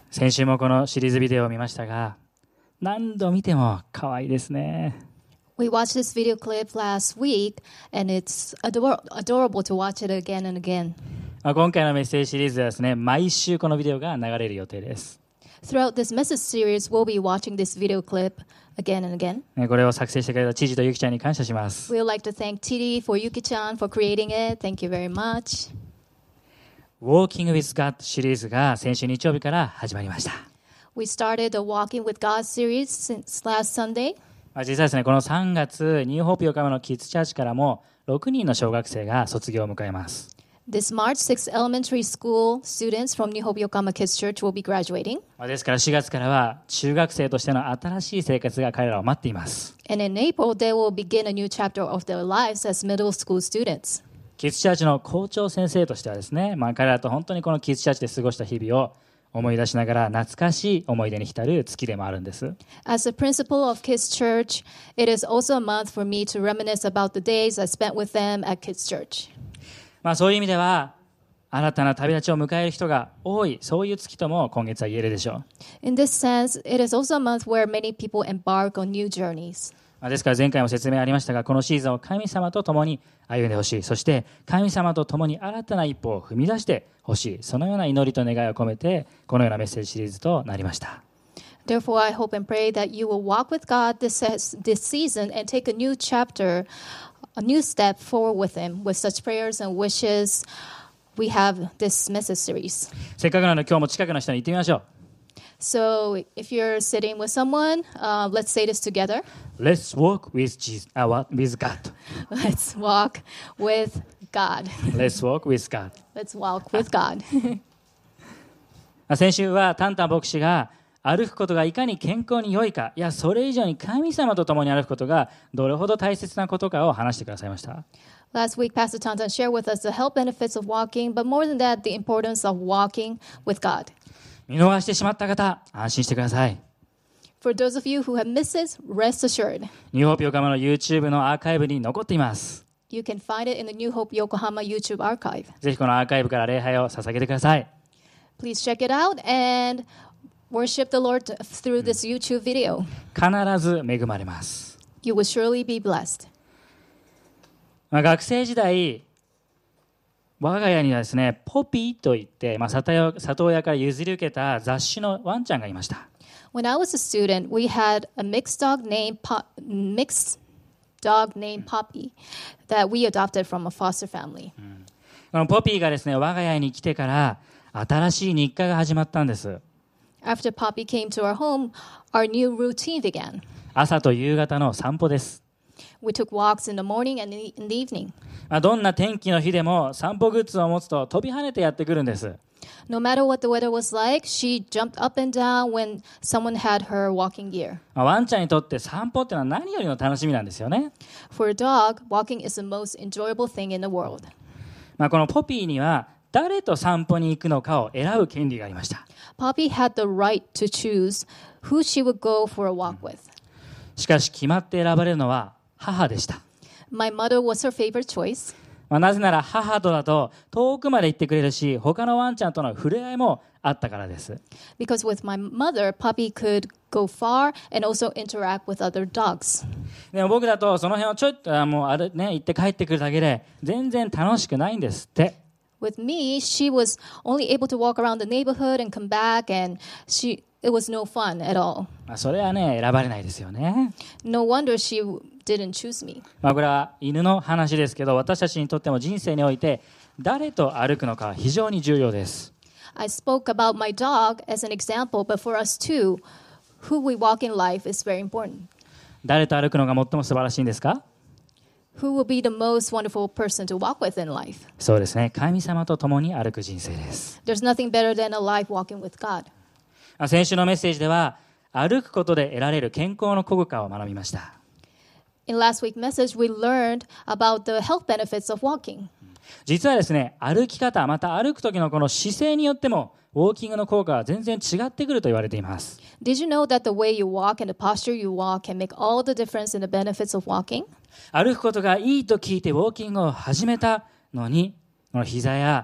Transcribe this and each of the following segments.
先週もこのシリーズビデオを見ましたが、何度見ても可愛いですね。 We watched this video clip last week, and it's adorable to watch it again and again. 今回のメッセージシリーズではですね、毎週このビデオが流れる予定です。 Throughout this message series, we'll be watching this video clip again and again. これを作成してくれた知事とゆきちゃんに感謝します。 We would like to thank Titi for Yuki-chan for creating it. Thank you very much. Walking with God シリーズが先週日曜日から始まりました。 We started the Walking with God series since last Sunday. 実際ですね、この3月、ニューホープ横浜のキッズチャーチからも6人の小学生が卒業を迎えます。 This March, 6 elementary school students from New Hope Yokohama Kids Church will be graduating. ですから4月からは中学生としての新しい生活が彼らを待っています。 And in April, they will begin a new chapter of their lives as middle school students. キッズチャーチの校長先生としてはですね、彼らと本当にこのキッズチャーチで過ごした日々を思い出しながら懐かしい思い出に浸る月でもあるんです。 As the principal of Kids Church, it is also a month for me to reminisce about the days I spent with them at Kids Church. そういう意味では新たな旅立ちを迎える人が多い、そういう月とも今月は言えるでしょう。 In this sense, it is also a month where many people embark on new journeys. ですから前回も説明ありましたが、このシーズンを神様と共に歩んでほしい、そして神様と共に新たな一歩を踏み出してほしい、そのような祈りと願いを込めてこのようなメッセージシリーズとなりました。 Therefore, I hope and pray that you will walk with God this season and take a new chapter, a new step forward with Him. With such prayers and wishes, we have this message series. せっかくなので今日も近くの人に言ってみましょう。 So, if you're sitting with someone, let's say this together. Let's walk with with God. Let's walk with God. Let's walk with God. Let's walk with God. 先週はタンタン牧師が歩くことがいかに健康に良いか、いやそれ以上に神様と共に歩くことがどれほど大切なことかを話してくださいました。 Last week, Pastor Tantan shared with us the health benefits of walking, but more than that, the importance of walking with God. 見逃してしまった方、安心してください。 For those of you who have missed it, rest assured. ニューホープ横浜の YouTube のアーカイブに残っています。 You can find it in the New Hope Yokohama YouTube archive. ぜひこのアーカイブから礼拝を捧げてください。 Please check it out and worship the Lord through this YouTube video. 必ず恵まれます。 You will surely be blessed. 学生時代、我が家にはですね、ポピーといって、里親から譲り受けた雑種のワンちゃんがいました。 When I was a student, we had a mixed dog named Poppy that we adopted from a foster family. このポピーがですね、我が家に来てから新しい日課が始まったんです。 After Poppy came to our home, our new routine began. 朝と夕方の散歩です。 We took walks in the morning and in the evening. どんな天気の日でも散歩グッズを持つと飛び跳ねてやってくるんです。 No matter what the weather was like, she jumped up and down when someone had her walking gear. ワンちゃんにとって散歩ってのは何よりの楽しみなんですよね。 For a dog, walking is the most enjoyable thing in the world. このポピーには誰と散歩に行くのかを選ぶ権利がありました。 Poppy had the right to choose who she would go for a walk with. しかし決まって選ばれるのは母でした。 My mother was her favorite choice. なぜなら母とだと遠くまで行ってくれるし、他のワンちゃんとの触れ合いもあったからです。 Because with my mother, Poppy could go far and also interact with other dogs. でも僕だとその辺をちょっと行って帰ってくるだけで全然楽しくないんですって。 With me, she was only able to walk around the neighborhood and come back, and it was no fun at all. それはね、選ばれないですよね。 No wonder she didn't choose me. これは犬の話ですけど、私たちにとっても人生において誰と歩くのか非常に重要です。 I spoke about my dog as an example, but for us too, who we walk in life is very important. 誰と歩くのが最も素晴らしいんですか？ Who will be the most wonderful person to walk with in life? そうですね、神様と共に歩く人生です。 There's nothing better than a life walking with God. 先週のメッセージでは歩くことで得られる健康の効果を学びました。 In last week's message, we learned about the health benefits of walking. 実はですね、歩き方、また歩く時のこの姿勢によってもウォーキングの効果は全然違ってくると言われています。 Did you know that the way you walk and the posture you walk can make all the difference in the benefits of walking? 歩くことがいいと聞いてウォーキングを始めたのに、この膝や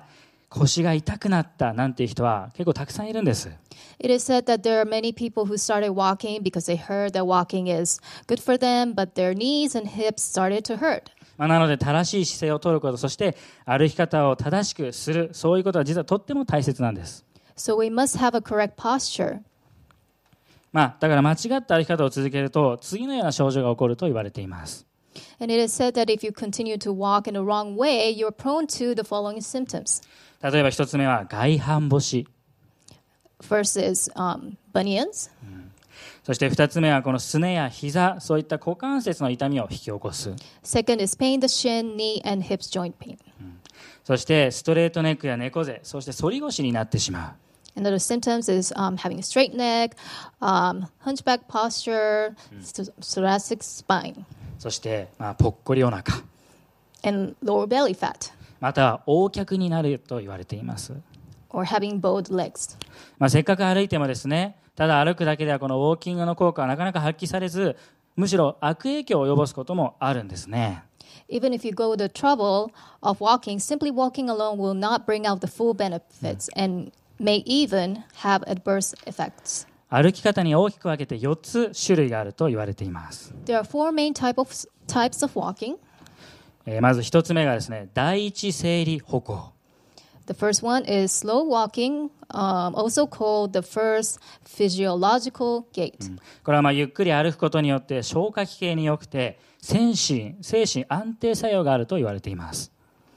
腰が痛くなったなんていう人は結構たくさんいるんです。 It is said that there are many people who started walking because they heard that walking is good for them, but their knees and hips started to hurt. なので正しい姿勢を取ること、そして歩き方を正しくする、そういうことは実はとっても大切なんです。 So we must have a correct posture. だから間違った歩き方を続けると次のような症状が起こると言われています。 And it is said that if you continue to walk in the wrong way, you're prone to the following symptoms. 例えば一つ目は外反母趾。 First is bunions. そして二つ目はこのすねや膝、そういった股関節の痛みを引き起こす。 Second is pain, the shin, knee, and hips joint pain. そしてストレートネックや猫背、そして反り腰になってしまう。 Another symptoms is having a straight neck, hunchback posture, thoracic spine, そしてぽっこりお腹、 and lower belly fat, または横脚になると言われています。 or having bowed legs. せっかく歩いてもですね、ただ歩くだけではこのウォーキングの効果はなかなか発揮されず、むしろ悪影響を及ぼすこともあるんですね。 Even if you go the trouble of walking, simply walking alone will not bring out the full benefits and may even have adverse effects. 歩き方に大きく分けて4つ種類があると言われています。 There are four main types of walking. まず1つ目がですね、第一生理歩行。 The first one is slow walking, also called the first physiological gait. これはゆっくり歩くことによって消化器系に良くて精神安定作用があると言われています。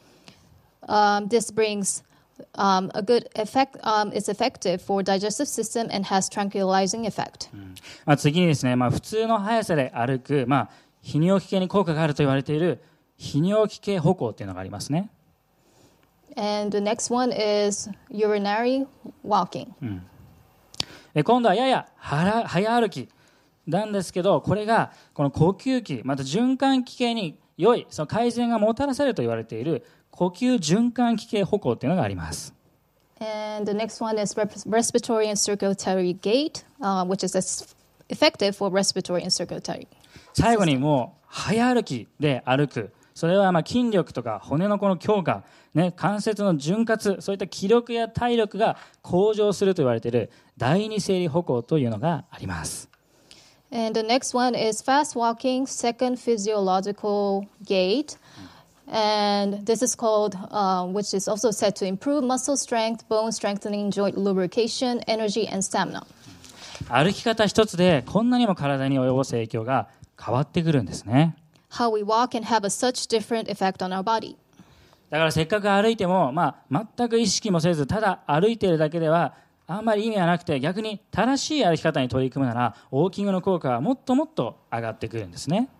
This brings a good effect. It's effective for digestive system and has tranquilizing effect. 次にですね、普通の速さで歩く、泌尿器系に効果があると言われている泌尿器系歩行というのがありますね。 And the next one is urinary walking. 今度はやや早歩きなんですけど、これがこの呼吸器、また循環器系に良いその改善がもたらされると言われている呼吸循環器系歩行というのがあります。 And the next one is respiratory and circulatory gait, which is effective for respiratory and circulatory. 最後にもう早歩きで歩く。それは筋力とか骨のこの強化、関節の潤滑、そういった気力や体力が向上すると言われている第二生理歩行というのがあります。 And the next one is fast walking, second physiological gait. And this is called, which is also said to improve muscle strength, bone strengthening, joint lubrication, energy, and stamina. 歩き方一つでこんなにも体に及ぼす影響が変わってくるんですね。 How we walk can have a such different effect on our body. だからせっかく歩いても、全く意識もせずただ歩いているだけではあんまり意味はなくて、逆に正しい歩き方に取り組むならウォーキングの効果はもっともっと上がってくるんですね。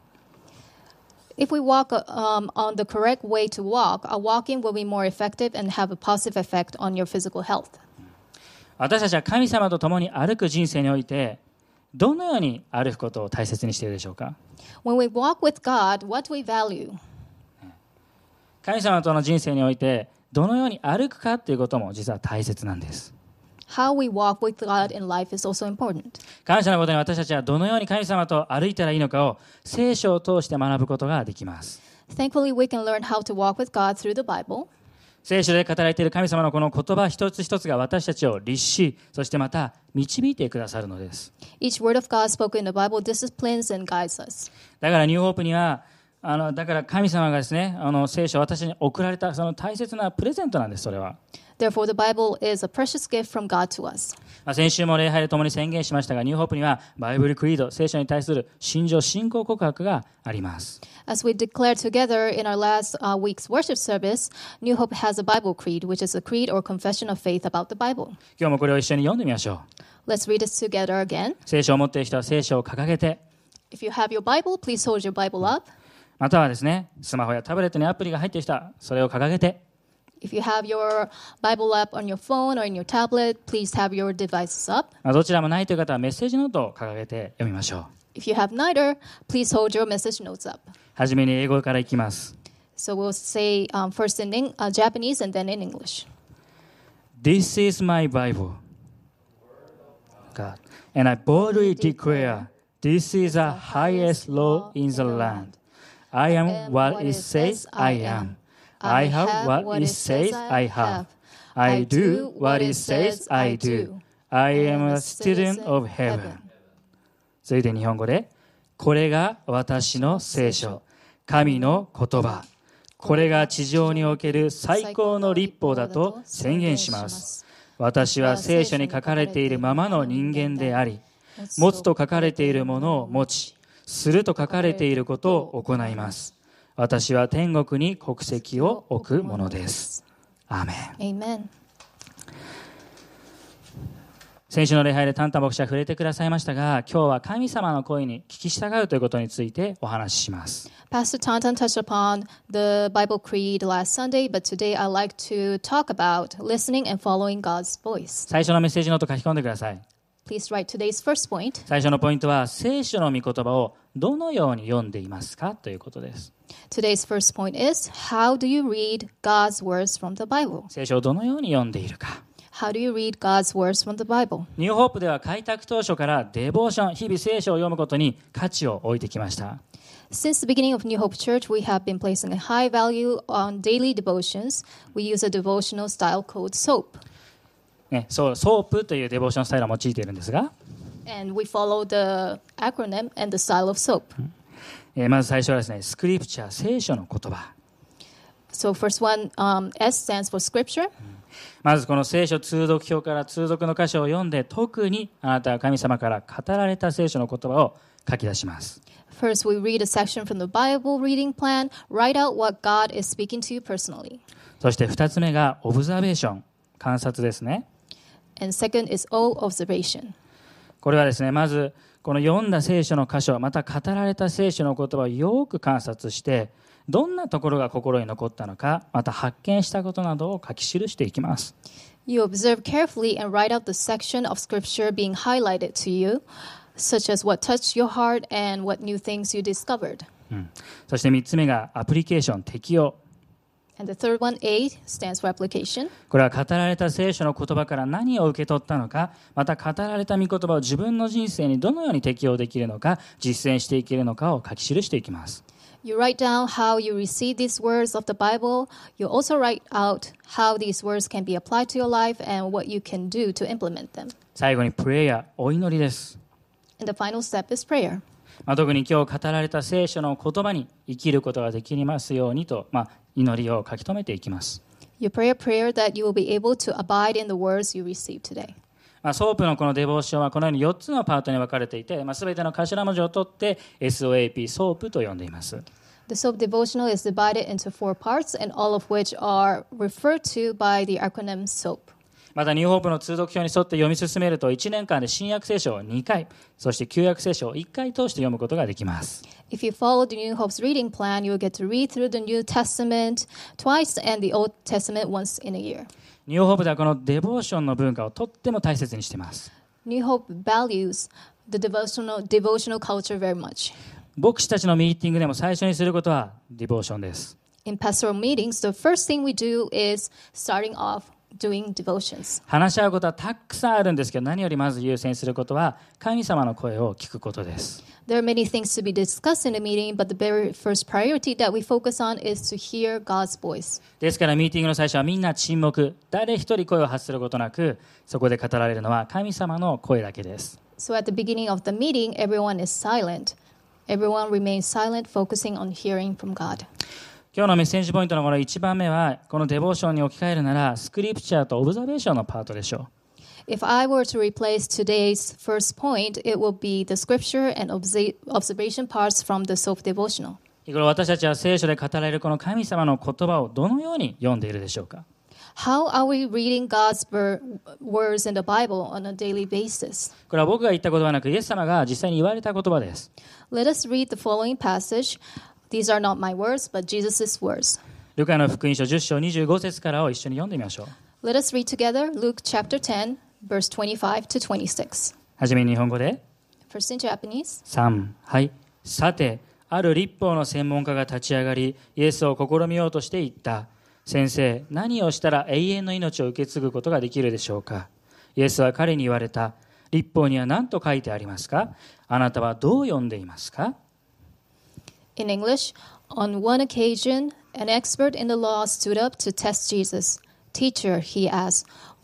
If we walk on the correct way to walk, our walking will be more effective and have a positive effect on your physical health. 私たちは神様と共に歩く人生においてどのように歩くことを大切にしているでしょうか。 When we walk with God, what do we value? 神様との人生においてどのように歩くかということも実は大切なんです。 How we walk with God in life is also important. 感謝のことに私たちはどのように神様と歩いたらいいのかを聖書を通して学ぶことができます。 Thankfully, we can learn how to walk with God through the Bible. 聖書で語られている神様のこの言葉一つ一つが私たちを律し、そしてまた導いてくださるのです。 Each word of God spoken in the Bible disciplines and guides us. だからニューホープにはだから神様がですね、聖書を私に送られたその大切なプレゼントなんです。それは。 Therefore, the Bible is a precious gift from God to us. 先週も礼拝で共に宣言しましたが、ニューホープにはバイブルクリード、聖書に対する信条信仰告白があります。 As we declared together in our last week's worship service, New Hope has a Bible creed, which is a creed or confession of faith about the Bible. 今日もこれを一緒に読んでみましょう。 Let's read this together again. 聖書を持っている人は聖書を掲げて、 If you have your Bible, please hold your Bible up. またはですね、スマホやタブレットにアプリが入っている人はそれを掲げて、 If you have your Bible app on your phone or in your tablet, please have your devices up. どちらもないという方はメッセージノートを掲げて読みましょう。 If you have neither, please hold your message notes up. はじめに英語からいきます。 So we'll say first in Japanese and then in English. This is my Bible, God, and I boldly declare, this is the highest law in the land. I am what it says I am. I have what it says I have. I do what it says I do. I am a student of heaven. 続いて日本語で、これが私の聖書、神の言葉。これが地上における最高の律法だと宣言します。私は聖書に書かれているままの人間であり、持つと書かれているものを持ち、すると書かれていることを行います。私は天国に国籍を置くものです。アーメン。 Amen. 先週の礼拝でタンタ牧師は触れてくださいましたが、今日は神様の声に聞き従うということについてお話しします。 Pastor Tantan touched upon the Bible Creed last Sunday, but today I'd like to talk about listening and following God's voice. 最初のメッセージノート書き込んでください。 Please write today's first point. 最初のポイントは、聖書の御言葉をどのように読んでいますかということです。 Today's first point is, how do you read God's words from the Bible? 聖書をどのように読んでいるか。 How do you read God's words from the Bible? ニューホープでは開拓当初からデボーション、日々聖書を読むことに価値を置いてきました。 Since the beginning of New Hope Church, we have been placing a high value on daily devotions. We use a devotional style called SOAP. ソープというデボーションスタイルを用いているんですが、 And we follow the acronym and the style of SOAP. まず最初はですね、スクリプチャー、聖書の言葉。 So first one, S stands for scripture. まずこの聖書通読表から通読の箇所を読んで、特にあなたは神様から語られた聖書の言葉を書き出します。 First, we read a section from the Bible reading plan. Write out what God is speaking to you personally. そして2つ目がオブザベーション、観察ですね。 And second is O, observation. これはですね、まずこの読んだ聖書の箇所、また語られた聖書の言葉をよく観察して、どんなところが心に残ったのか、また発見したことなどを書き記していきます。 You observe carefully and write out the section of scripture being highlighted to you, such as what touched your heart and what new things you discovered. そして3つ目がアプリケーション、適用。 And the third one, A, stands for application. これは語られた聖書の言葉から何を受け取ったのか、また語られた御言葉を自分の人生にどのように適用できるのか、実践していけるのかを書き記していきます。 You write down how you receive these words of the Bible. You also write out how these words can be applied to your life and what you can do to implement them. 最後にプレイヤー、お祈りです。 And the final step is prayer. 特に今日語られた聖書の言葉に生きることができますようにと、祈りを書き留めていきます。 You pray a prayer that you will be able to abide in the words you receive today. ソープのこのデボーションはこのように4つのパートに分かれていて、すべての頭文字を取って SOAP、ソープと呼んでいます。 The SOAP devotional is divided into 4 parts, and all of which are referred to by the acronym SOAP. またニューホープの通読表に沿って読み進めると1年間で新約聖書を2回、そして旧約聖書を1回通して読むことができます。 If you follow the New Hope's reading plan, you will get to read through the New Testament twice and the Old Testament once in a year. ニューホープではこのデボーションの文化をとっても大切にしています。 New Hope values the devotional culture very much. 牧師たちのミーティングでも最初にすることはデボーションです。 In pastoral meetings, the first thing we do is starting off doing devotions. 話し合うことはたくさんあるんですけど、何よりまず優先することは神様の声を聞くことです。 There are many things to be discussed in a meeting, but the very first priority that we focus on is to hear God's voice. ですからミーティングの最初はみんな沈黙、誰一人声を発することなく、そこで語られるのは神様の声だけです。 So at the beginning of the meeting, everyone is silent. Everyone remains silent, focusing on hearing from God. 今日のメッセージポイントのこの1番目は、このデボーションに置き換えるなら、スクリプチャーとオブザベーションのパートでしょう。 If I were to replace today's first point, it will be the scripture and observation parts from the self-devotional. これ私たちは聖書で語られるこの神様の言葉をどのように読んでいるでしょうか。 How are we reading God's words in the Bible on a daily basis? これは僕が言った言葉なく、イエス様が実際に言われた言葉です。 Let us read the following passage. These are not my words, but Jesus' words. ルカの福音書10章25節からを一緒に読んでみましょう。 Let us read together Luke chapter 10, verse 25 to 26. はじめに日本語で。 First in Japanese. 3、はい。さて、ある律法の専門家が立ち上がり、イエスを試みようとして言った。先生、何をしたら永遠の命を受け継ぐことができるでしょうか。イエスは彼に言われた。律法には何と書いてありますか。あなたはどう読んでいますか。 In English, on one occasion, an expert in the law stood up to test Jesus. Teacher, he asked,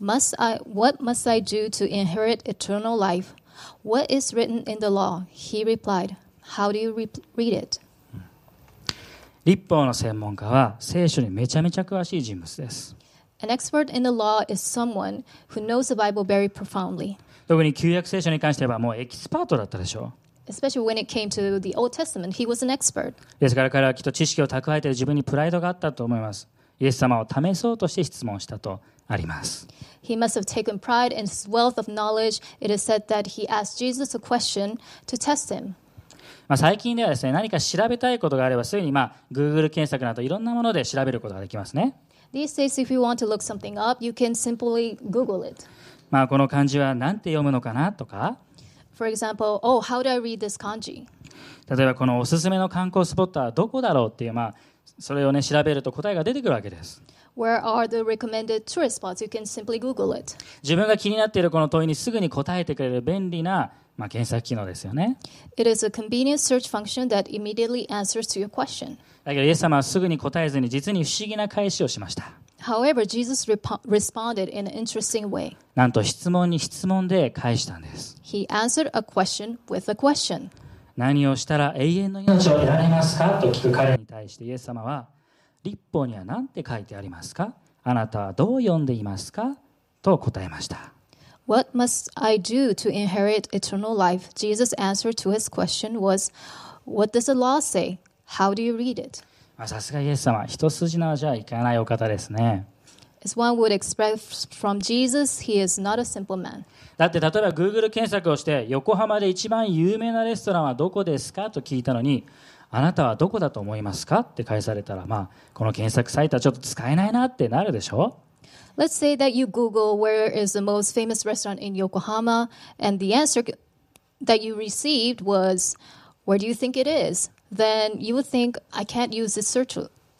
what must I do to inherit eternal life? What is written in the law? He replied, How do you read it? 律法の専門家は聖書にめちゃめちゃ詳しい人物です。 An expert in the law is someone who knows the Bible very profoundly. 特に旧約聖書に関してはもうエキスパートだったでしょう。 Especially when it came to the Old Testament, he was an expert. ですから彼はきっと知識を蓄えている自分にプライドがあったと思います。イエス様を試そうとして質問したとあります。 He must have taken pride in his wealth of knowledge. It is said that he asked Jesus a question to test him. 最近ではですね、何か調べたいことがあればすぐにGoogle 検索などいろんなもので調べることができますね。 These days, if you want to look something up, you can simply Google it. この漢字は何て読むのかなとか、 For example, how do I read this kanji? 例えばこのおすすめの観光スポットはどこだろうっていう、それをね調べると答えが出てくるわけです。 Where are the recommended tourist spots? You can simply Google it. 自分が気になっているこの問いにすぐに答えてくれる便利な、検索機能ですよね。 It is a convenient search function that immediately answers to your question. だけどイエス様はすぐに答えずに実に不思議な返しをしました。 However, Jesus responded in an interesting way. なんと質問に質問で返したんです。 He answered a question with a question. 何をしたら永遠の命を得られますかと聞く彼に対してイエス様は、律法には何て書いてありますか？あなたはどう読んでいますか？と答えました。 What must I do to inherit eternal life? Jesus' answer to his question was, What does the law say? How do you read it? さすがイエス様、一筋縄じゃいかないお方ですね。 As one would expect from Jesus, he is not a simple man. だって例えば Google 検索をして横浜で一番有名なレストランはどこですかと聞いたのに、あなたはどこだと思いますかって返されたら、この検索サイトはちょっと使えないなってなるでしょ。 Let's say that you Google where is the most famous restaurant in Yokohama, and the answer that you received was, where do you think it is? Then you would think, I can't use this search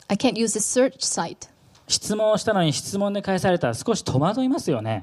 site. 質問をしたのに質問で返されたら少し戸惑いますよね。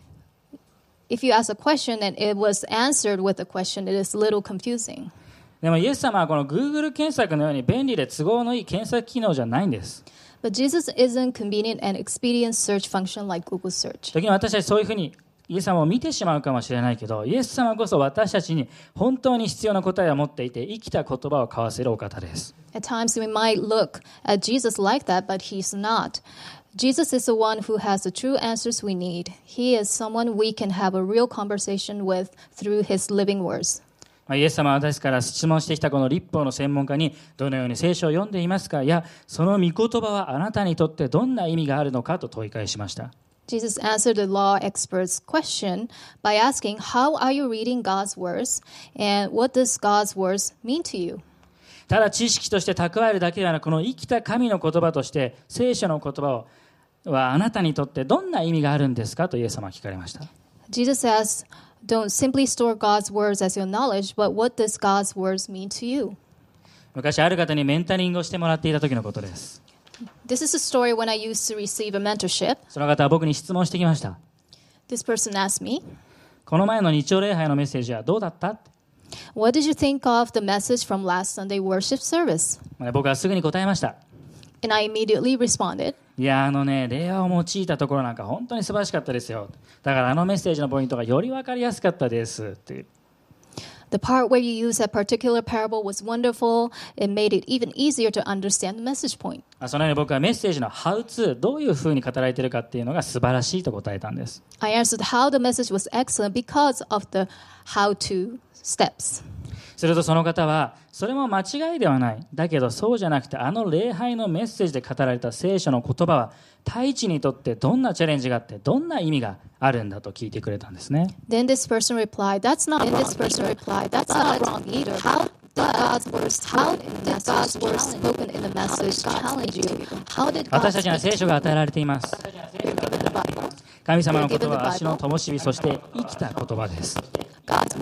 If you ask a question and it was answered with a question, it is a little confusing. でもイエス様はこの Google 検索のように便利で都合のいい検索機能じゃないんです。 But Jesus isn't convenient and expedient search function like Google search. 時に私たちそういうふうにイエス様を見てしまうかもしれないけど、イエス様こそ私たちに本当に必要な答えを持っていて、生きた言葉を交わせるお方です。 At times we might look at Jesus like that, but he's not. Jesus is the one who has the true answers we need. He is someone we can have a real conversation with through his living words. イエス様は私から質問してきたこの律法の専門家にどのように聖書を読んでいますか、いやその御言葉はあなたにとってどんな意味があるのかと問い返しました。 Jesus answered the law expert's question by asking, How are you reading God's words? And what does God's words mean to you? ただ知識として蓄えるだけではなく、この生きた神の言葉として聖書の言葉はあなたにとってどんな意味があるんですかとイエス様は聞かれました。 Jesus says, Don't simply store God's words as your knowledge, but what does God's words mean to you? 昔ある方にメンタリングをしてもらっていた時のことです。 This is a story when I used to receive a mentorship. その方は僕に質問してきました。 This person asked me, この前の日曜礼拝のメッセージはどうだった？ What did you think of the message from last Sunday worship service? 僕はすぐに答えました。 And I immediately responded, いや令和を用いたところなんか本当に素晴らしかったですよ。だからあのメッセージのポイントがより分かりやすかったですっていう。 The part where you used that particular parable was wonderful. It made it even easier to understand the message point. そのように僕はメッセージの How to どういうふうに語られているかっていうのが素晴らしいと答えたんです。 I answered how the message was excellent because of the how to steps. するとその方はそれも間違いではない。だけどそうじゃなくてあの礼拝のメッセージで語られた聖書の言葉は太一にとってどんなチャレンジがあってどんな意味があるんだと聞いてくれたんですね。 Then this person replied, That's not wrong either. How did God's words spoken in the message challenge you? How did 私たちには聖書が与えられています。神様の言葉は足の灯火、そして生きた言葉です。 God's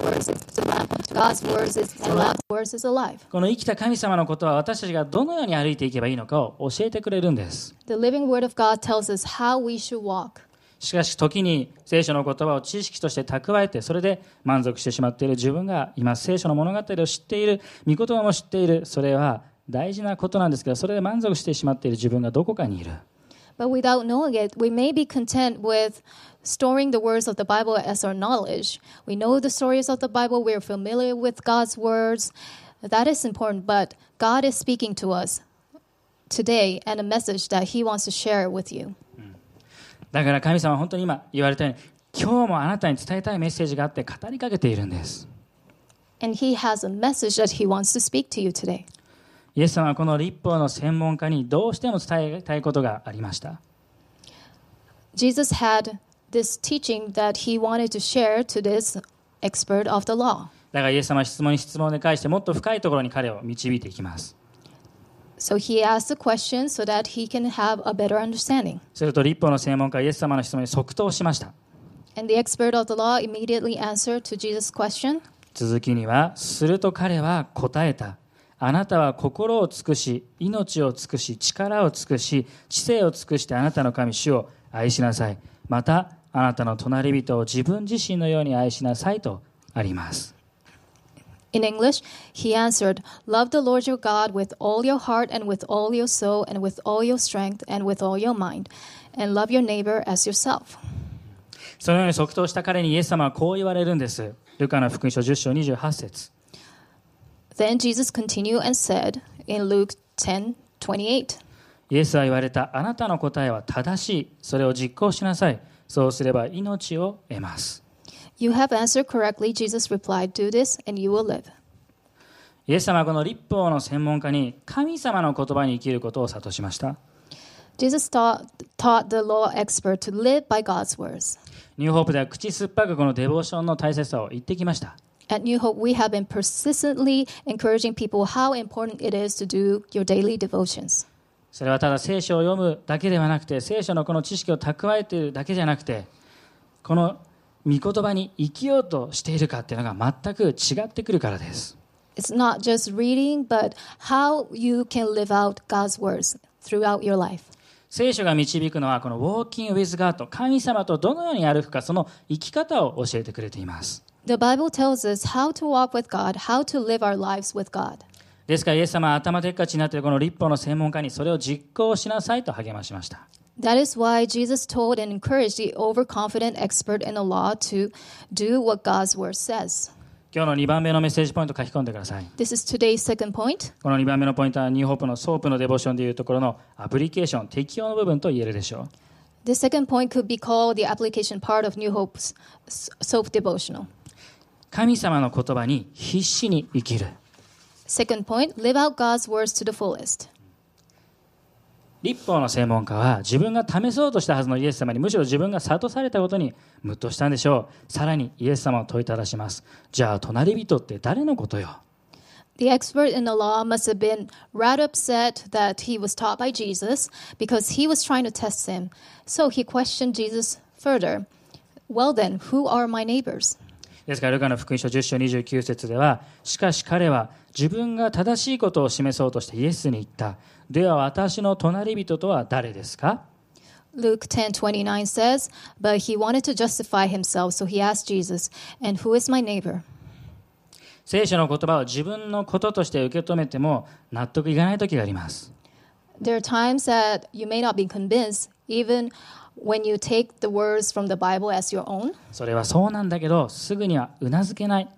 words is alive. この生きた神様のことは私たちがどのように歩いていけばいいのかを教えてくれるんです。 The living word of God tells us how we should walk. しかし時に聖書の言葉を知識として蓄えてそれで満足してしまっている自分がいます。聖書の物語を知っている、御言葉も知っている、それは大事なことなんですけど、それで満足してしまっている自分がどこかにいる。 But without knowing it, we may be content with storing the words of the Bible as our knowledge. We know the stories of the Bible. We're familiar with God's words. That is important, but God is speaking to us today and a message that He wants to share with you. だから神様は本当に今言われたように、今日もあなたに伝えたいメッセージがあって語りかけているんです。 And He has a message that He wants to speak to you today. イエス様はこの律法の専門家にどうしても伝えたいことがありました。 Jesus had this teaching that He wanted to share to this expert of the law. だからイエス様は質問に質問で返してもっと深いところに彼を導いていきます。 So he asked the question so that he can have a better understanding. すると律法の専門家はイエス様の質問に即答しました。 And the expert of the law immediately answered to Jesus' question. 続きには、すると彼は答えた。あなたは心を尽くし、命を尽くし、力を尽くし、知性を尽くしてあなたの神主を愛しなさい。また、あなたの隣人を自分自身のように愛しなさいとあります。 In English, he answered, Love the Lord your God with all your heart and with all your soul and with all your strength and with all your mind, and love your neighbor as yourself. そのように即答した彼にイエス様はこう言われるんです。ルカの福音書10章28節。 Then Jesus continued and said in Luke 10:28. イエスは言われた。あなたの答えは正しい。それを実行しなさい。そうすれば命を得ます。 You have answered correctly, Jesus replied, do this and you will live. イエス様はこの律法の専門家に神様の言葉に生きることを諭しました。 Jesus taught the law expert to live by God's words. ニューホープでは口酸っぱくこのデボーションの大切さを言ってきました。 At New Hope, we have been persistently encouraging people how important it is to do your daily devotions. それはただ聖書を読むだけではなくて、聖書のこの知識を蓄えているだけじゃなくて、この御言葉に生きようとしているかっていうのが全く違ってくるからです。 It's not just reading, but how you can live out God's words throughout your life. 聖書が導くのはこの Walking with God、神様とどのように歩くか、その生き方を教えてくれています。 The Bible tells us how to walk with God, how to live our lives with God. ですからイエス様は頭でっかちになっているこの律法の専門家にそれを実行しなさいと励ましました。 That is why Jesus told and encouraged the overconfident expert in the law to do what God's word says. 今日の2番目のメッセージポイントを書き込んでください。 This is today's second point. この2番目のポイントはニューホープのソープのデボーションでいうところのアプリケーション、適用の部分と言えるでしょう。 The second point could be called the application part of New Hope's soap devotional. 神様の言葉に必死に生きる。 Second point, live out God's words to the fullest. 律法の専門家は自分が試そうとしたはずのイエス様にむしろ自分が諭されたことにムッとしたんでしょう。さらにイエス様を問いただします。じゃあ隣人って誰のことよ。 The expert in the law must have been rather upset that he was taught by Jesus because he was trying to test him. So he questioned Jesus further. Well then, who are my neighbors? ですからルカの福音書10章29節では、しかし彼は自分が正しいことを示そうとしてイエスに言った。では私の隣人とは誰ですか？ Luke 10:29 says, but he wanted to justify himself, so he asked Jesus, and who is my neighbor? 聖書の言葉を自分のこととして受け止めても納得いかない時があります。 There are times that you may not be convinced, even when you take the words from the Bible as your own. それはそうなんだけど、すぐにはうなずけない。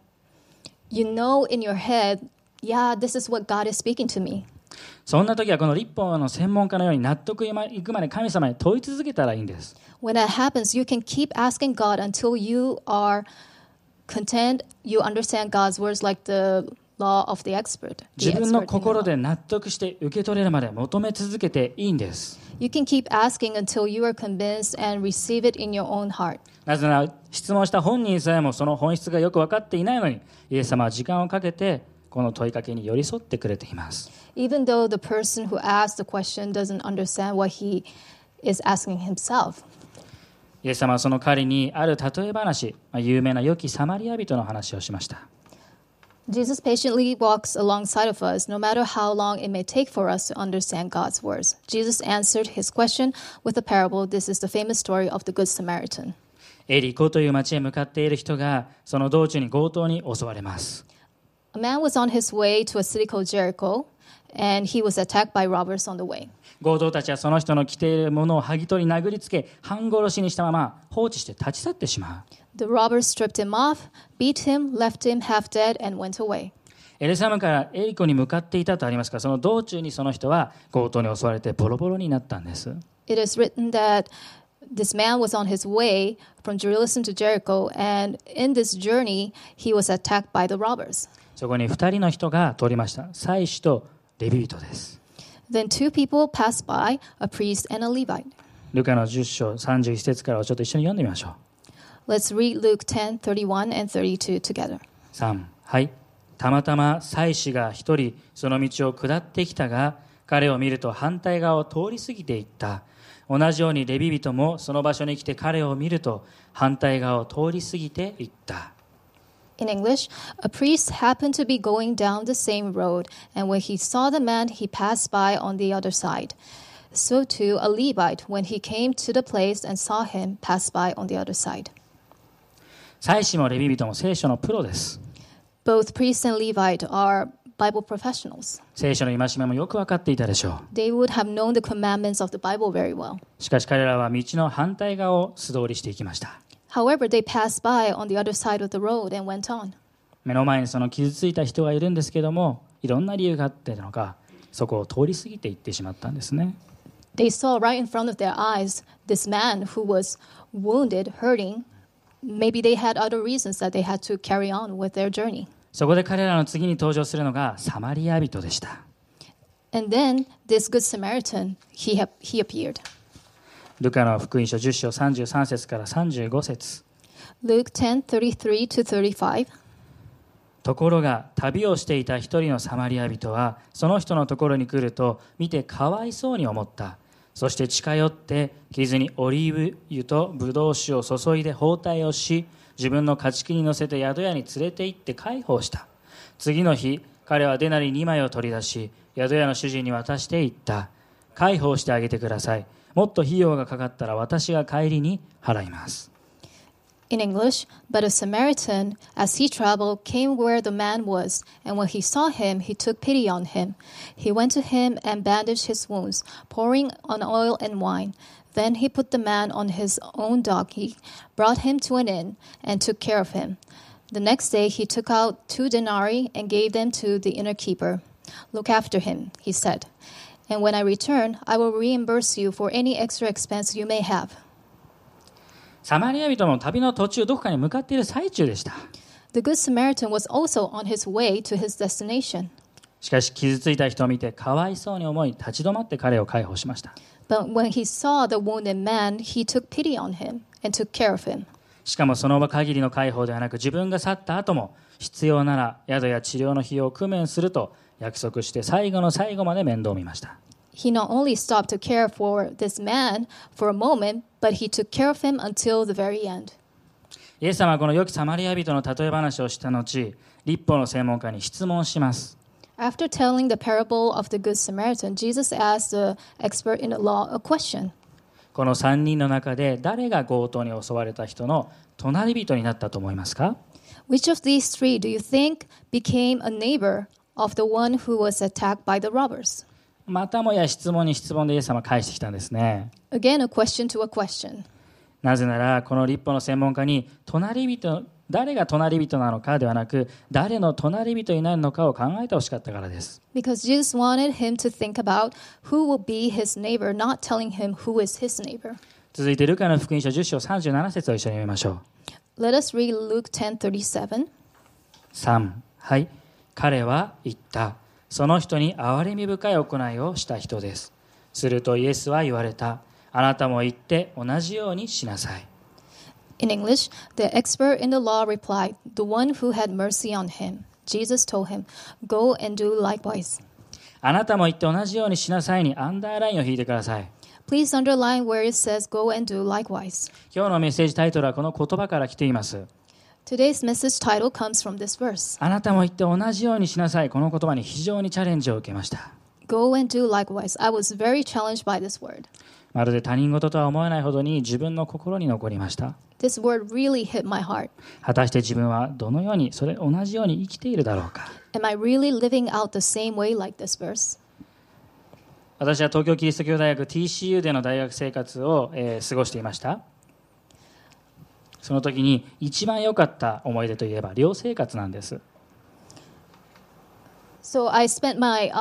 You know in your head, yeah, this is what God is speaking to me. そんな時はこの律法の専門家のように納得いくまで神様に問い続けたらいいんです。 When that happens, you can keep asking God until you are content, you understand God's words like the law of the expert. 自分の心で納得して受け取れるまで求め続けていいんです。 You can keep asking until you are convinced and receive it in your own heart. なぜなら質問した本人さえもその本質がよく分かっていないのに、イエス様は時間をかけてこの問いかけに寄り添ってくれています。 Even though the person who asked the question doesn't understand what he is asking himself. イエス様はその彼にある例え話、有名な良きサマリア人の話をしました。 Jesus patiently walks alongside of us, no matter how long it may take for us to understand God's words. Jesus answered his question with a parable. This is the famous story of the Good Samaritan. エリコという町へ向かっている人がその道中に強盗に襲われます。 A man was on his way to a city called Jericho, and he was attacked by robbers on the way. 強盗たちはその人の着ているものを剥ぎ取り殴りつけ半殺しにしたまま放置して立ち去ってしまう。 The robbers stripped him off, beat him, left him half dead, and went away. エルサレムからエリコに向かっていたとありますが、その道中にその人は強盗に襲われてボロボロになったんです。 It is written that this man was on his way from Jerusalem to Jericho, and in this journey, he was attacked by the robbers. そこに2人の人が通りました。祭司とレビ人です。 Then two people passed by, a priest and a Levite. ルカの10章31節からをちょっと一緒に読んでみましょう。 Let's read Luke 10:31 and 32 together. 3、はい。たまたま祭司が一人その道を下ってきたが、彼を見ると反対側を通り過ぎていった。同じようにレビ人もその場所に来て彼を見ると反対側を通り過ぎていった。 In English, a priest happened to be going down the same road, and when he saw the man, he passed by on the other side. So too a Levite, when he came to the place and saw him, passed by on the other side. 祭司もレビ人も聖書のプロです。 Both priest and Levite are Bible professionals. 聖書の戒めもよく分かっていたでしょう。 They would have known the commandments of the Bible very well. しかし彼らは道の反対側を素通りしていきました。 However, they passed by on the other side of the road and went on. 目の前にその傷ついた人がいるんですけども、いろんな理由があってのか、そこを通り過ぎていってしまったんですね。 They saw right in front of their eyes this man who was wounded, hurting. Maybe they had other reasons that they had to carry on with their journey. そこで彼らの次に登場するのがサマリア人でした。 And then this good Samaritan, he appeared. ルカの福音書10章33節から35節。 Luke 10:33 to 35. ところが旅をしていた一人のサマリア人はその人のところに来ると見てかわいそうに思った。そして近寄って傷にオリーブ油とブドウ酒を注いで包帯をし、自分の家畜に乗せて宿屋に連れて行って介抱した。次の日彼はデナリ2枚を取り出し宿屋の主人に渡して言った。介抱してあげてください。もっと費用がかかったら私が帰りに払います。 In English, but a Samaritan, as he traveled, came where the man was, and when he saw him, he took pity on him. He went to him and bandaged his wounds, pouring on oil and wine. Then he put the man on his own donkey, brought him to an inn, and took care of him. The next day he took out 2 denarii and gave them to the innkeeper. Look after him, he said, and when I return, I will reimburse you for any extra expense you may have. サマリア人も旅の途中どこかに向かっている最中でした。 The Good Samaritan was also on his way to his destination. しかし傷ついた人を見てかわいそうに思い立ち止まって彼を介抱しました。 But when he saw the wounded man, he took pity on him and took care of him. しかもその場限りの介抱ではなく自分が去った後も必要なら宿や治療の費用を工面すると約束して最後の最後まで面倒を見ました。 He not only stopped to care for this man for a moment, but he took care of him until the very end. イエス様はこの良きサマリア人の例え話をした後、律法の専門家に質問します。 After telling the parable of the Good Samaritan, Jesus asked the expert in the law a question. この3人の中で誰が強盗に襲われた人の隣人になったと思いますか？ Which of these three do you think became a neighbor of the one who was attacked by the robbers? またもや質問に質問でイエス様は返してきたんですね。 Again, a question to a question. なぜならこの律法の専門家に誰が隣人なのかではなく誰の隣人になるのかを考えてほしかったからです。 Because Jesus wanted him to think about who will be his neighbor, not telling him who is his neighbor. 続いてルカの福音書10章37節を一緒に読みましょう。 Let us read Luke 10:37. 3、はい。彼は言った。その人に憐れみ深い行いをした人です。するとイエスは言われた。あなたも行って同じようにしなさい。 In English, the expert in the law replied, the one who had mercy on him. Jesus told him, go and do likewise. あなたも行って同じようにしなさいにアンダーラインを引いてください。 Please underline where it says go and do likewise. 今日のメッセージタイトルはこの言葉から来ています。 Today's message title comes from this verse. あなたも行って同じようにしなさい。この言葉に非常にチャレンジを受けました。 Go and do likewise. I was very challenged by this word. まるで他人事とは思えないほどに自分の心に残りました。 This word really hit my heart. 果たして自分はどのように同じように生きているだろうか。 Am I really living out the same way like this verse? 私は東京キリスト教大学 TCU での大学生活を、過ごしていました。その時に一番良かった思い出といえば寮生活なんです。 So I spent my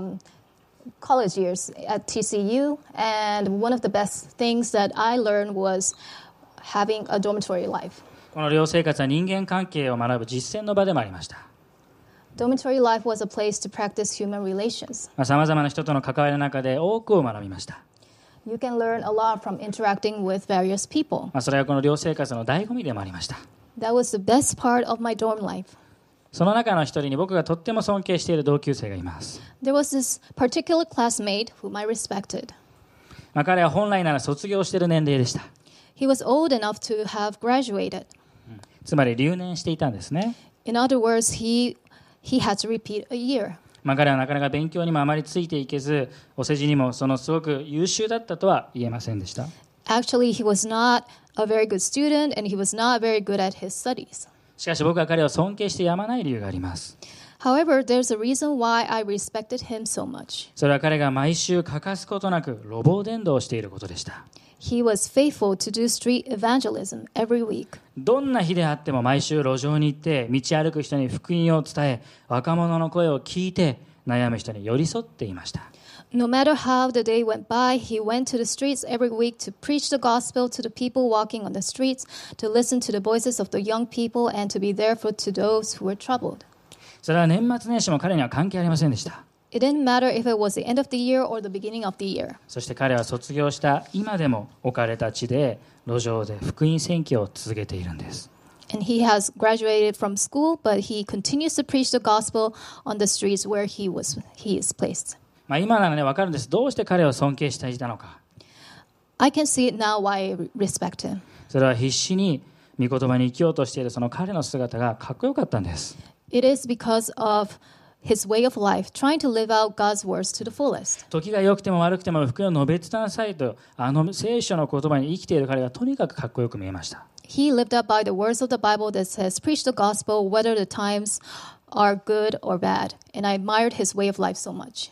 college years at TCU, and one of the best things that I learned was having a dormitory life. この寮生活は人間関係を学ぶ実践の場でもありました。 Dormitory life was a place to practice human relations. さまざまな人との関わりの中で多くを学びました。 You can learn a lot from interacting with various people. それはこの寮生活の醍醐味でもありました。 That was the best part of my dorm life. その中の一人に僕がとっても尊敬している同級生がいます。 There was this particular classmate whom I respected. 彼は本来なら卒業している年齢でした。 He was old enough to have graduated. つまり留年していたんですね。 In other words, he had to repeat a year. 彼はなかなか勉強にもあまりついていけず、お世辞にもすごく優秀だったとは言えませんでした。 Actually, he was not a very good student, and he was not very good at his studies. しかし僕は彼を尊敬してやまない理由があります。 However, there's a reason why I respected him so much. それは彼が毎週欠かすことなく路傍伝道をしていることでした。 He was faithful to do street evangelism every week. どんな日であっても毎週路上に行って道歩く人に福音を伝え、若者の声を聞いて悩む人に寄り添っていました。 No matter how the day went by, he went to the streets every week to preach the gospel to the people walking on the streets, to listen to the voices of the young people, and to be there for to those who were troubled. それは年末年始も彼には関係ありませんでした。 It didn't matter if it was the end of the year or the beginning of the year. そして彼は卒業した今でも置かれた地で路上で福音宣教を続けているんです。 And he has graduated from school, but he continues to preach the gospel on the streets where he is placed. 今ならね、分かるんです。どうして彼を尊敬していたのか。 I can see it now why I respect him. それは必死に御言葉に生きようとしているその彼の姿がかっこよかったんです。 It is because of his way of life, trying to live out God's words to the fullest. 時が良くても悪くても福音を述べ伝なさいと、聖書の言葉に生きている彼がとにかくかっこよく見えました。 He lived up by the words of the Bible that says, preach the gospel whether the times are good or bad. And I admired his way of life so much.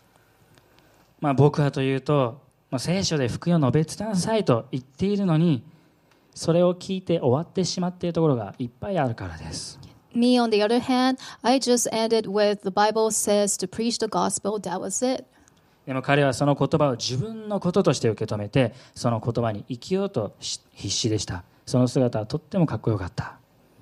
僕はというと、聖書で福音を述べ伝なさいと言っているのに、それを聞いて終わってしまっているところがいっぱいあるからです。 Me, on the other hand, I just ended with the Bible says to preach the gospel. That was it. でも彼はその言葉を自分のこととして受け止めて、その言葉に生きようと必死でした。その姿はとってもかっこよかった。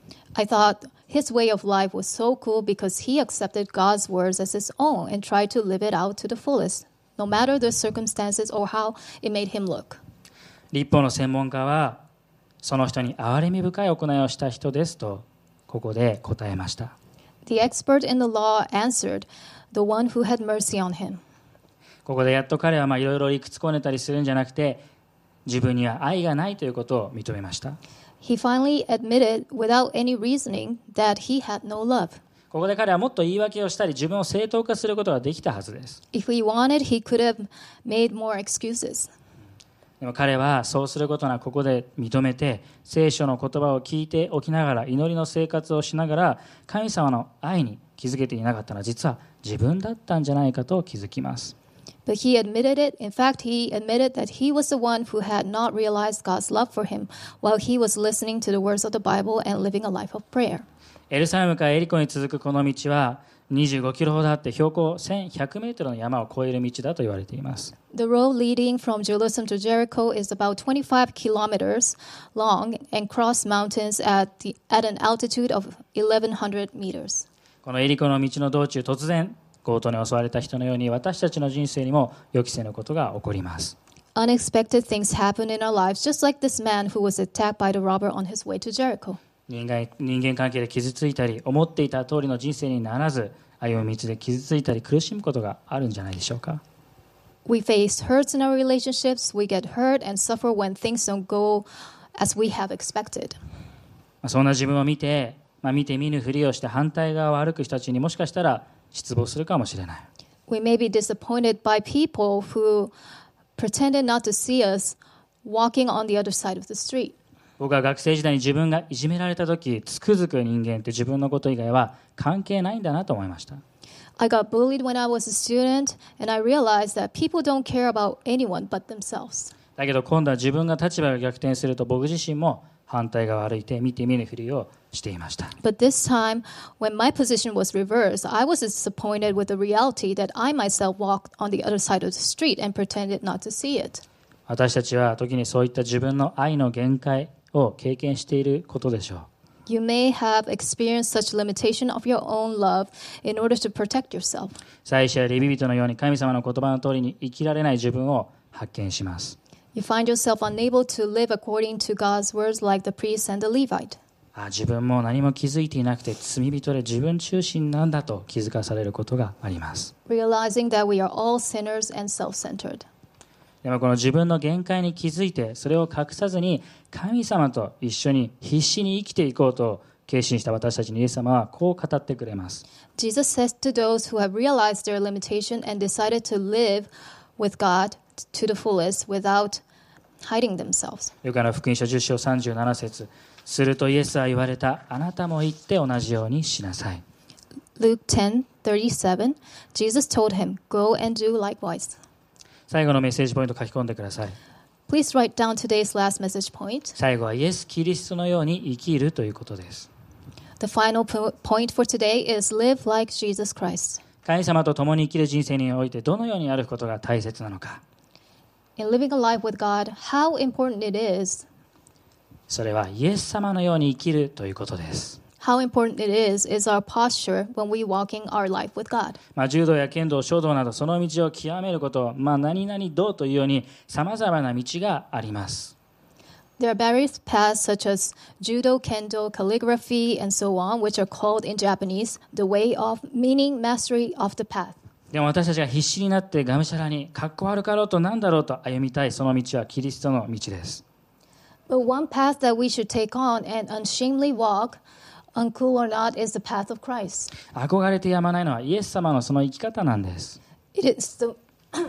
I thought his way of life was so cool because he accepted God's words as his own and tried to live it out to the fullest, no matter the circumstances or how it made him look. 律法の専門家は、その人に憐れみ深い行いをした人ですと、ここで答えました。 The expert in the law answered, the one who had mercy on him. ここでやっと彼はいろいろ理屈こねたりするんじゃなくて、自分には愛がないということを認めました。 He finally admitted without any reasoning that he had no love. ここで彼はもっと言い訳をしたり自分を正当化することができたはずです。 If he wanted, he could have made more excuses. でも彼はそうすることなくここで認めて、聖書の言葉を聞いておきながら祈りの生活をしながら神様の愛に気づけていなかったのは実は自分だったんじゃないかと気づきます。 But he admitted it. In fact, he admitted that he was the one who had not realized God's love for him while he was listening to the words of the Bible and living a life of prayer. エルサレムからエリコに続くこの道は25キロほどあって標高1100メートルの山を越える道だと言われています。 The road leading from Jerusalem to Jericho is about 25 kilometers long and cross mountains at an altitude of 1100 meters. このエリコの道の道中、突然強盗に襲われた人のように私たちの人生にも予期せぬことが起こります。 Unexpected things happen in our lives, just like this man who was attacked by the robber on his way to Jericho. 人間関係で傷ついたり、思っていた通りの人生にならず、歩む道で傷ついたり苦しむことがあるんじゃないでしょうか。 We face hurts in our relationships. We get hurt and suffer when things don't go as we have expected. そんな自分を見て見ぬふりをして反対側を歩く人たちにもしかしたら失望するかもしれない。 We may be disappointed by people who pretended not to see us walking on the other side of the street. 僕は学生時代に自分がいじめられた時、つくづく人間って自分のこと以外は関係ないんだなと思いました。 I got bullied when I was a student, and I realized that people don't care about anyone but themselves. だけど今度は自分が立場が逆転すると僕自身も反対側を歩いて見て見ぬふりをしていました。 But this time, when my position was reversed, I was disappointed with the reality that I myself walked on the other side of the street and pretended not to see it. 私たちは時にそういった自分の愛の限界を経験していることでしょう。 You may have experienced such limitation of your own love in order to protect yourself. 祭司やレビ人のように神様の言葉の通りに生きられない自分を発見します。 You find yourself unable to live according to God's words like the priest and the Levite. 自分も何も気づいていなくて罪人で自分中心なんだと気づかされることがあります。 Realizing that we are all sinners and self-centered. でもこの自分の限界に気づいてそれを隠さずに神様と一緒に必死に生きていこうと決心した私たちにイエス様はこう語ってくれます。 Jesus says to those who have realized their limitation and decided to live with God to the fullest without hiding themselves. ルカの福音書10章37節。するとイエスは言われた。あなたも行って同じようにしなさい。 Luke 10:37, Jesus told him, Go and do likewise. 最後のメッセージポイント書き込んでください。 Please write down today's last message point. 最後はイエス・キリストのように生きるということです。 The final point for today is live like Jesus Christ. 神様と共に生きる人生においてどのように歩くことが大切なのか。 In living a life with God, how important it is. それはイエス様のように生きるということです。 How important it is our posture when we walking our life with God. 柔道や剣道、書道などその道を極めること、何々道というように様々な道があります。 There are various paths such as judo, kendo, calligraphy, and so on, which are called in Japanese the way of, meaning mastery of the path. でも私たちが必死になってがむしゃらにかっこ悪かろうと何だろうと歩みたいその道はキリストの道です。 But one path that we should take on and unshamedly walk, uncool or not, is the path of Christ. 憧れてやまないのはイエス様のその生き方なんです。 It is the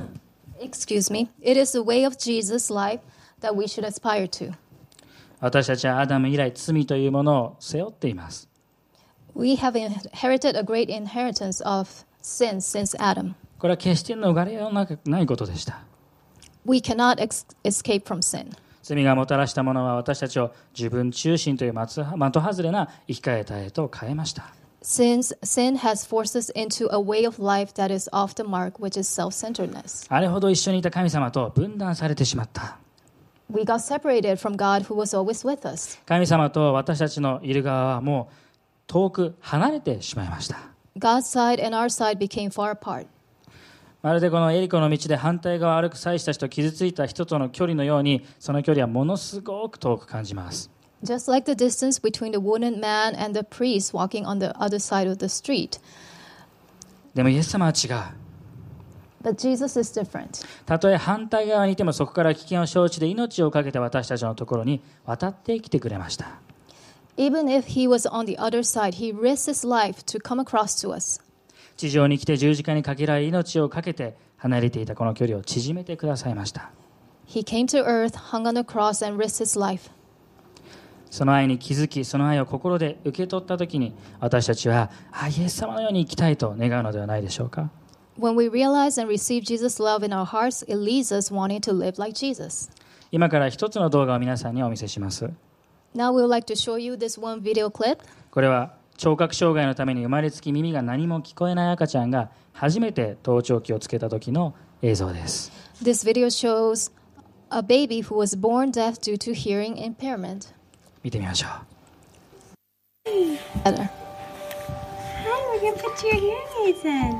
It is the way of Jesus' life that we should aspire to. 私たちはアダム以来罪というものを背負っています。 We have inherited a great inheritance of sin since Adam. これは決して逃れようがないことでした。 We cannot escape from sin. 罪がもたらしたものは私たちを自分中心という的外れな生き方へと変えました。 Sin has forced us into a way of life that is off the mark, which is self-centeredness. あれほど一緒にいた神様と分断されてしまった。 We got separated from God who was always with us. 神様と私たちのいる側はもう遠く離れてしまいました。 God's side and our side became far apart. まるでこのエリコの道で反対側を歩く祭司たちと傷ついた人との距離のように、その距離はものすごく遠く感じます。 Just like the distance between the wounded man and the priest walking on the other side of the street. でもイエス様は違う。 But Jesus is different. たとえ反対側にいてもそこから危険を承知で命を懸けて私たちのところに渡ってきてくれました。 Even if he was on the other side, he risked his life to come across to us. 地上に来て十字架にかけられ命を懸けて離れていたこの距離を縮めてくださいました。 He came to earth, hung on the cross, and risked his life. その愛に気づき、その愛を心で受け取ったときに、私たちはイエス様のように生きたいと願うのではないでしょうか。 When we realize and receive Jesus' love in our hearts, it leads us wanting to live like Jesus. 今から一つの動画を皆さんにお見せします。 Now we would like to show you this one video clip. これは聴覚障害のために生まれつき耳が何も聞こえない赤ちゃんが初めて盗聴器をつけた時の映像です。 This video shows a baby who was born deaf due to hearing impairment. 見てみましょう。 Hi, we're going to put your hearing aids in.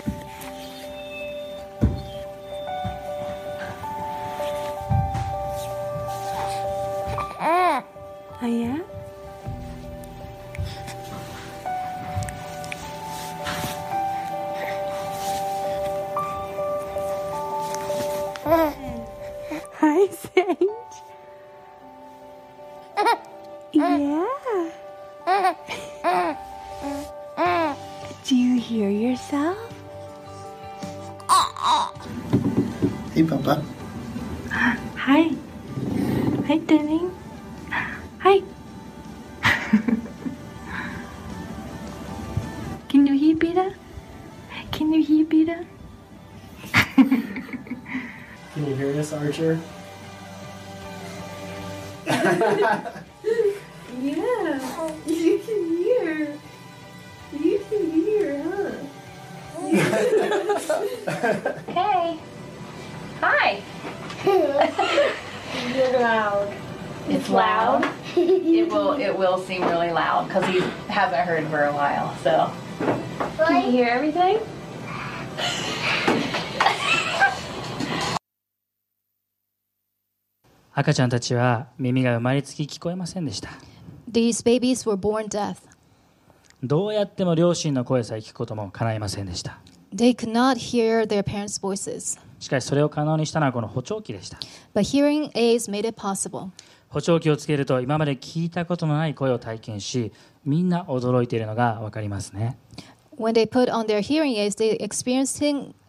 Oh, yeah? Hi, Sage. Yeah. Do you hear yourself? Hey, Papa. doing? Hi. Can you hear better? Can you hear better? Can you hear us, Archer? Yeah, you can hear. You can hear, huh? Hey. Hi. You're loud. It's loud. It will seem really loud because he hasn't heard for a while. So. Can you hear everything? 赤ちゃんたちは耳が生まれつき聞こえませんでした。 These babies were born deaf. どうやっても両親の声さえ聞くことも叶いませんでした。 They could not hear their parents' voices. しかしそれを可能にしたのはこの補聴器でした。 But hearing aids made it possible. 補聴器をつけると今まで聞いたことのない声を体験し、みんな驚いているのがわかりますね。 When they put on their hearing aids, they experienced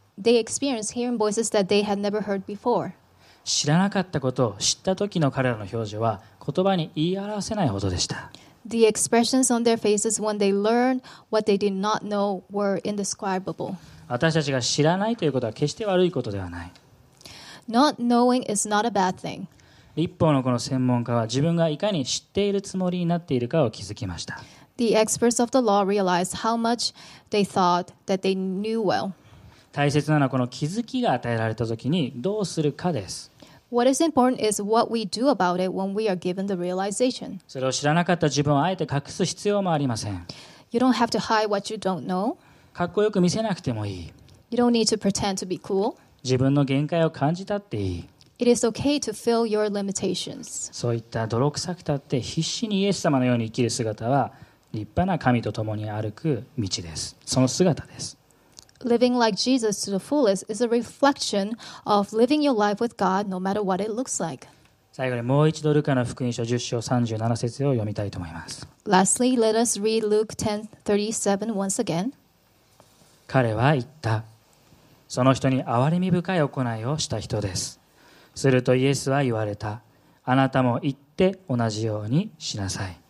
hearing voices that they had never heard before. 知らなかったことを知った時の彼らの表情は言葉に言い表せないほどでした。 The expressions on their faces when they learned what they did not know were indescribable. 私たちが知らないということは決して悪いことではない。 Not knowing is not a bad thing. 一方のこの専門家は自分がいかに知っているつもりになっているかを気づきました。 The experts of the law realized how much they thought that they knew well. 大切なのはこの気づきが与えられた時にどうするかです。 What is important is what we do about it when we are given the realization. それを知らなかった自分をあえて隠す必要もありません。 You don't have to hide what you don't know. かっこよく見せなくてもいい。 You don't need to pretend to be cool. 自分の限界を感じたっていい。 It is okay to feel your limitations. そういった泥臭くたって必死にイエス様のように生きる姿は立派な神と共に歩く道です。その姿です。 Living like Jesus to the fullest is a reflection of living your life with God no matter what it looks like. 最後にもう一度ルカの福音書10章37節を読みたいと思います。 Lastly, let us read Luke 10:37 once again. 彼は言った。その人に憐れみ深い行いをした人です。するとイエスは言われた。あなたも行って同じようにしなさい。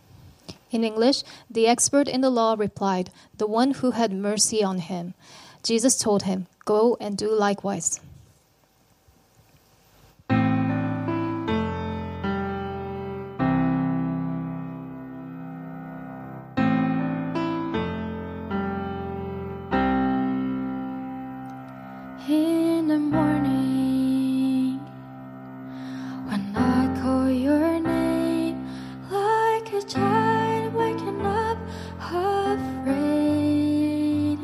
In English, the expert in the law replied, "The one who had mercy on him." Jesus told him, "Go and do likewise." In the morning, when I call your name, like a child waking up afraid,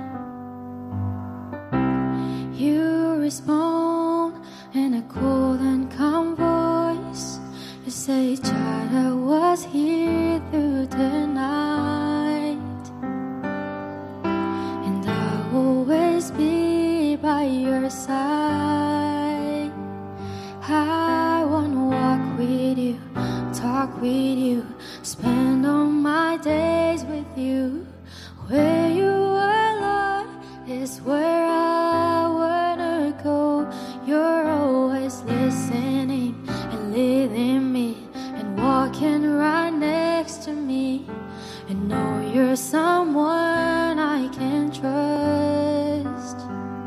you respond in a cool and calm voice. You say, "Child, I was here through the night, and I will always be by your side. I wanna walk with you, talk with you, spend all my days with you. Where you are, Lord, is where I wanna go. You're always listening and leading me and walking right next to me. And know you're someone I can trust.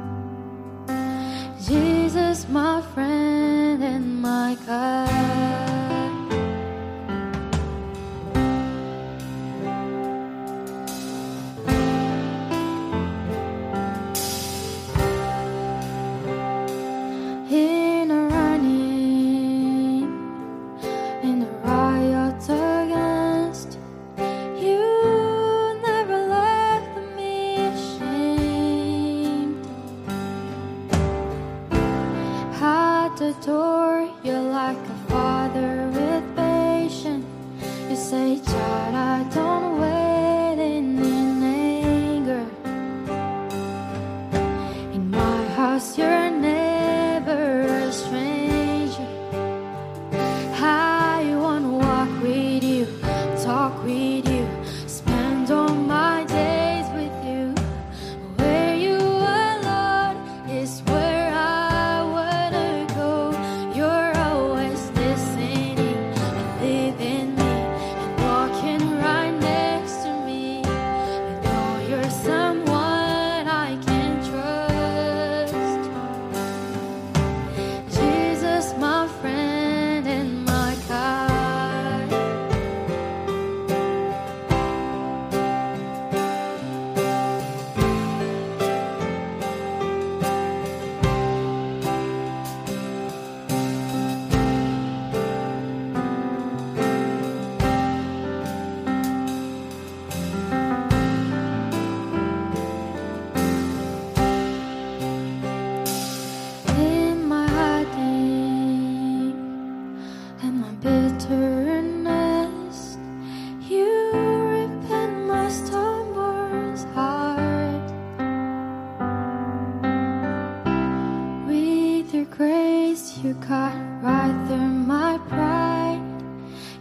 Jesus, my friend and my God. In a running, in a riot against, you never left me ashamed. At the door, you're like a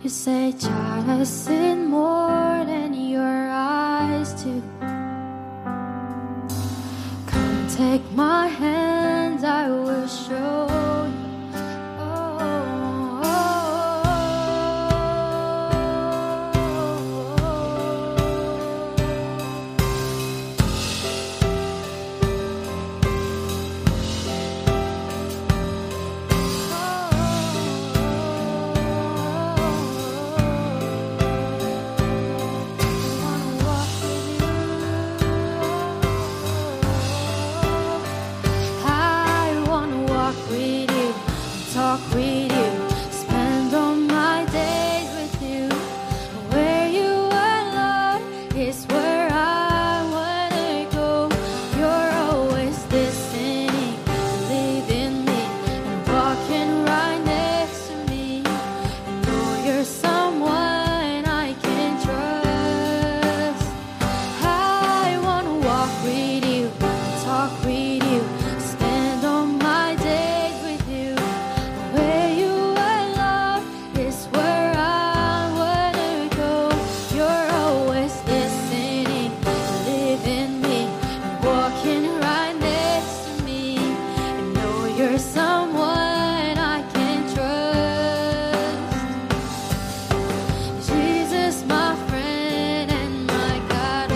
You say, child, I sin more than your eyes do. Come take my hands, I will show you. Talk with you, spend all my days with you. Where you are, Lord, is where I wanna go. You're always listening, leading me, and walking right next to me. I know you're someone I can trust. I wanna walk with you, talk with you, spend all my days with you. Where you are, Lord, is where I wanna go. You're always listening, living me, walking right next to me. I know you're someone I can trust. Jesus, my friend and my God.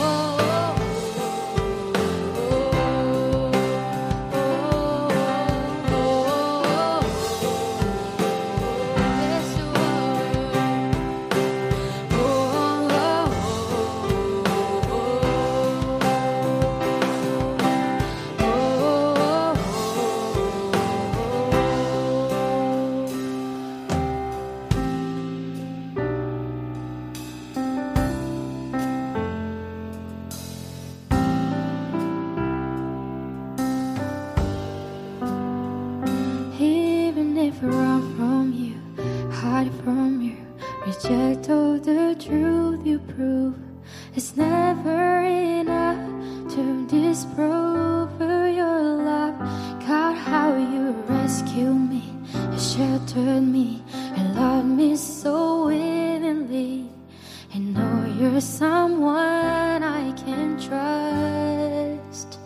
Even if I run from you, hide from you, reject all the truth you prove, it's never enough to disprove your love. God, how you rescued me, you sheltered me, and loved me so willingly. I know you're someone I can trust.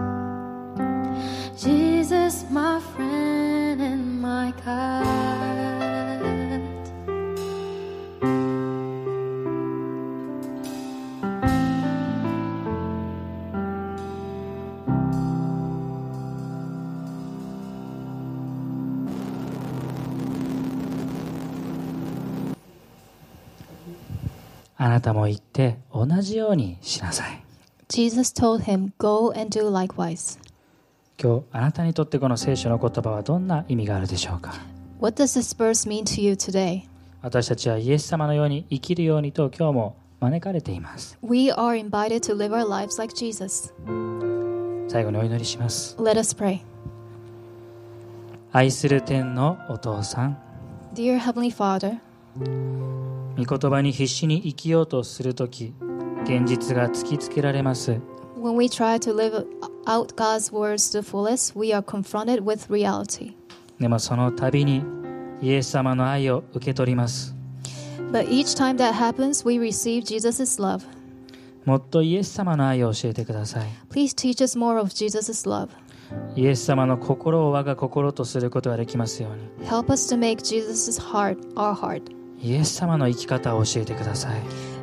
Jesus, my friend and my God. あなたも行って同じようにしなさい。 Jesus told him, Go and do likewise. 今日あなたにとってこの聖書の言葉はどんな意味があるでしょうか。 What does this verse mean to you today? 私たちはイエス様のように生きるようにと今日も招かれています。 We are invited to live our lives like Jesus. 最後にお祈りします。 Let us pray. 愛する天のお父さん、 Dear Heavenly Father, 御言葉に必死に生きようとするとき、現実が突きつけられます。 when we try to live out God's words to the fullest, we are confronted with reality. でもその度にイエス様の愛を受け取ります。 But each time that happens, we receive Jesus' love. もっとイエス様の愛を教えてください。 Please teach us more of Jesus' love. イエス様の心を我が心とすることができますように。 Help us to make Jesus' heart our heart. イエス様の生き方を教えてください。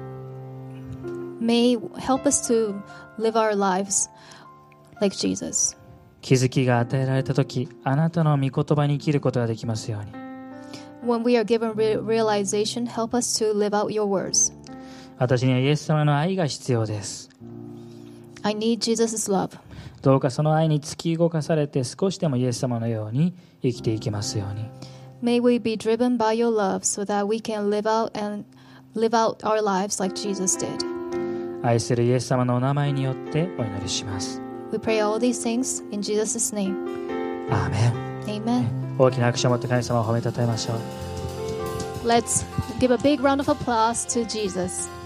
May help us to live our lives like Jesus. 気づきが与えられたとき、あなたの御言葉に生きることができますように。 When we are given realization, help us to live out your words. 私にはイエス様の愛が必要です。 I need Jesus' love. どうかその愛に突き動かされて少しでもイエス様のように生きていきますように。 May we be driven by your love so that we can live out our lives like Jesus did. 愛するイエス様のお名前によってお祈りします。 We pray all these things in Jesus' name. アーメン。 Amen. 大きな拍手を持って神様を褒めたたえましょう。 Let's give a big round of applause to Jesus.